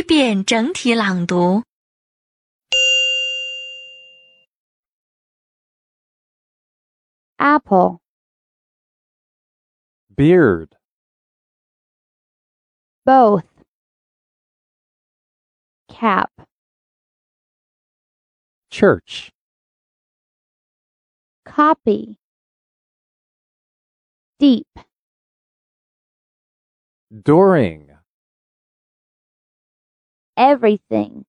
遍整体朗读。 Apple, beard, both, cap, church, copy, deep, during, everything,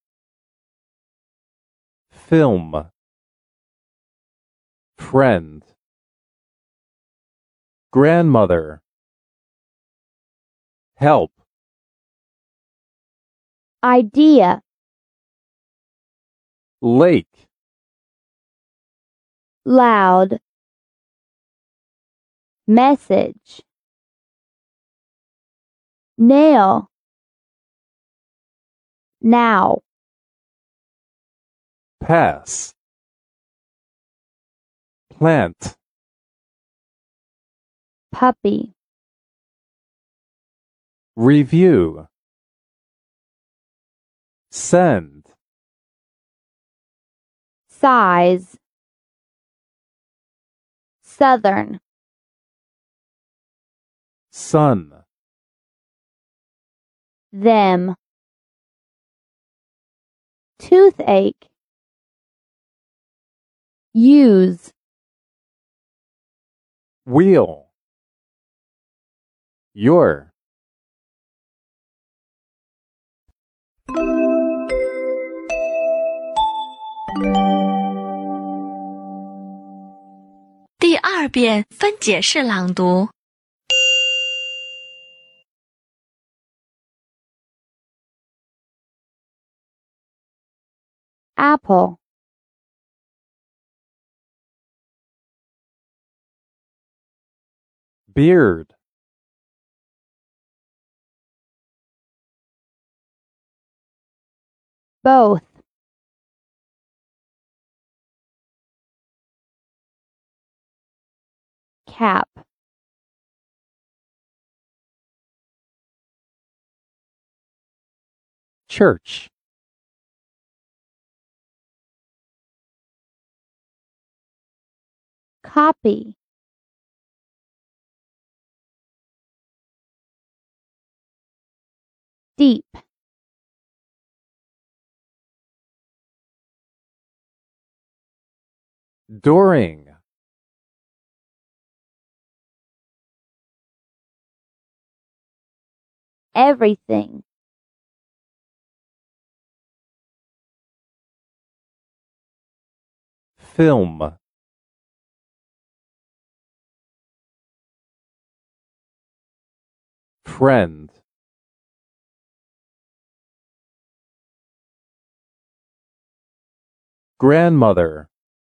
film, friend, grandmother, help, idea, lake, loud, message, nail, now, pass, plant, puppy, review, send, size, southern, sun, them, toothache, use, wheel, your. 第2遍分解式朗读。 Apple, beard, both, cap, church, copy, deep, during, everything, film, friend, grandmother,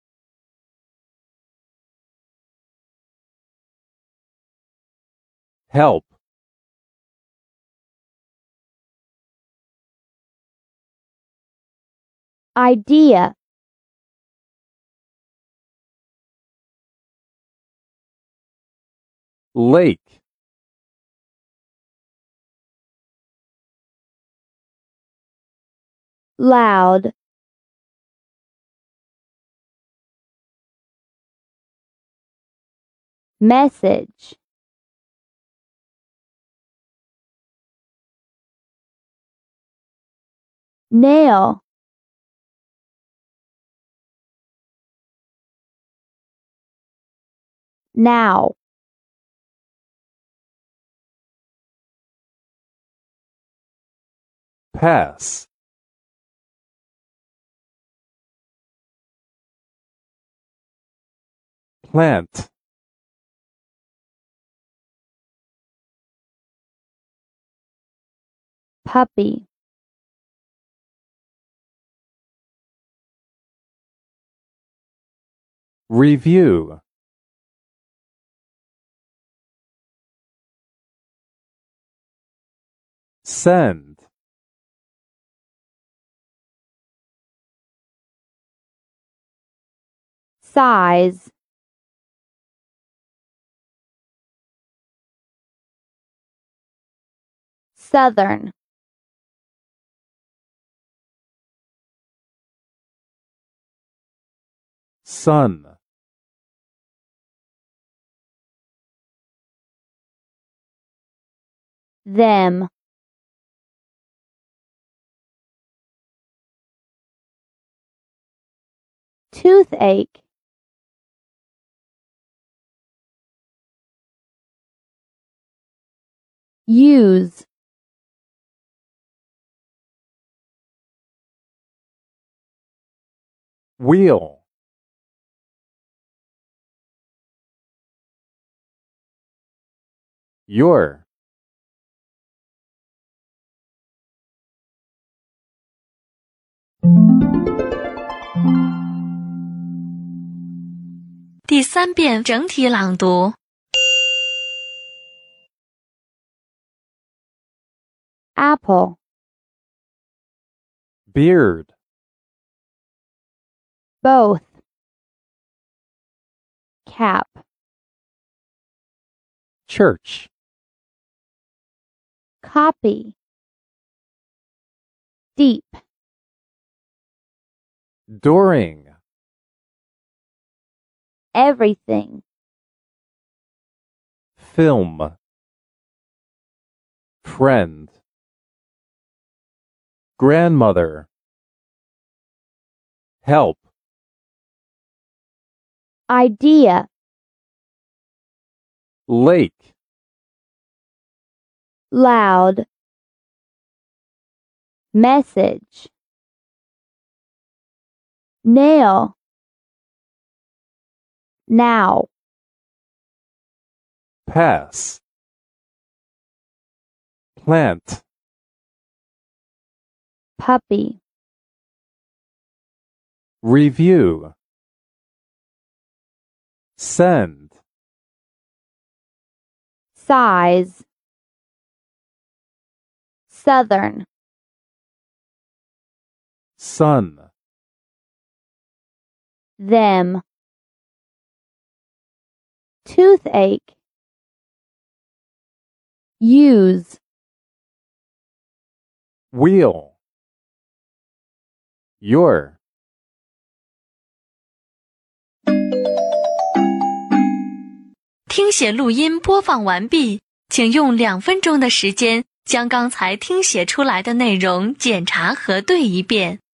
help, idea, lake, loud, message, nail, now, pass, plant, puppy, review, send, size, southern, Son. them, toothache, use, Wheel. Your. 第3遍整体朗读。 apple, Beard. both, cap, Church. copy, deep, During. everything, Film. Friend. Grandmother. Help. idea, Lake. loud, message, nail, now, Pass. Plant. puppy, Review. Send. size, southern, Son. them, toothache, use, Wheel. Your. 听写录音播放完毕，请用2分钟的时间将刚才听写出来的内容检查核对一遍。